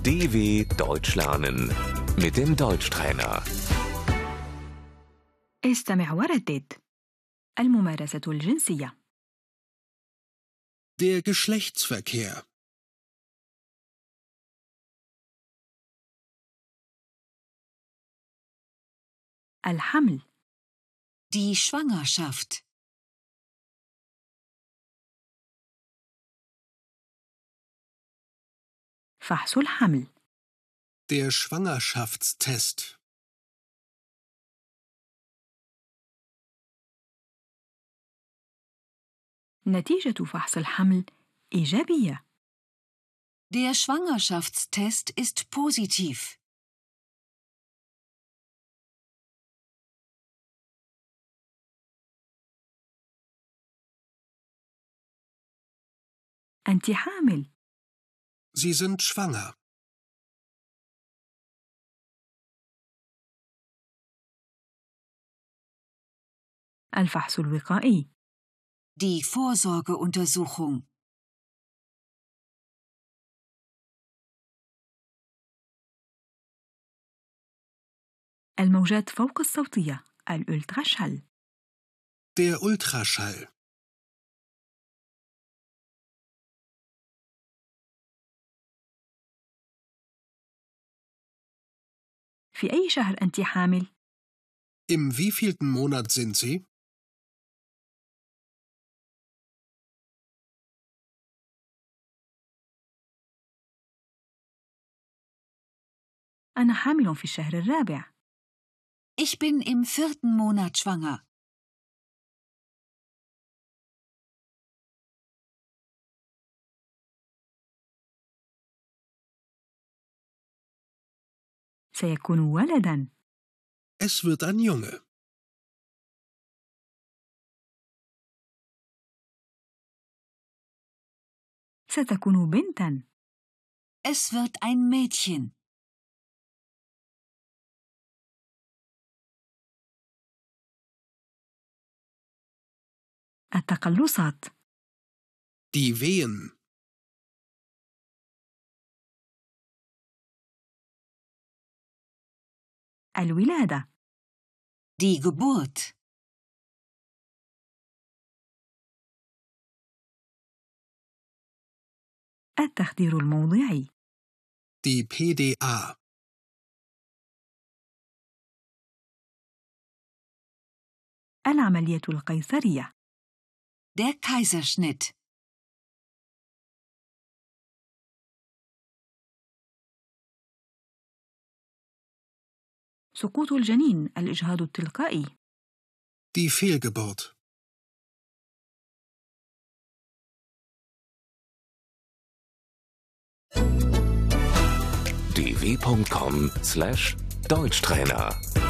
DW Deutsch lernen mit dem Deutschtrainer. استمع وردد. الممارسة الجنسية. Der Geschlechtsverkehr. الحمل. Die Schwangerschaft. فحص الحمل. Der Schwangerschaftstest. نتيجة فحص الحمل إيجابية. Der Schwangerschaftstest ist positiv. أنت حامل. Sie sind schwanger. الفحص الوقائي. Die Vorsorgeuntersuchung. الموجات فوق الصوتية الألتراشال. Der Ultraschall. في أي شهر أنت حامل؟ Im wievielten Monat sind Sie? أنا حامل في الشهر الرابع. Ich bin im 4. Monat schwanger. سيكون ولداً. Es wird ein Junge. ستكون بنتاً. Es wird ein Mädchen. التقلصات. Die Wehen. الولادة. Die Geburt. التخدير الموضعي. Die PDA. العملية القيصرية. Der Kaiserschnitt. سقوط الجنين الإجهاض التلقائي. Die Fehlgeburt. dw.com/Deutschtrainer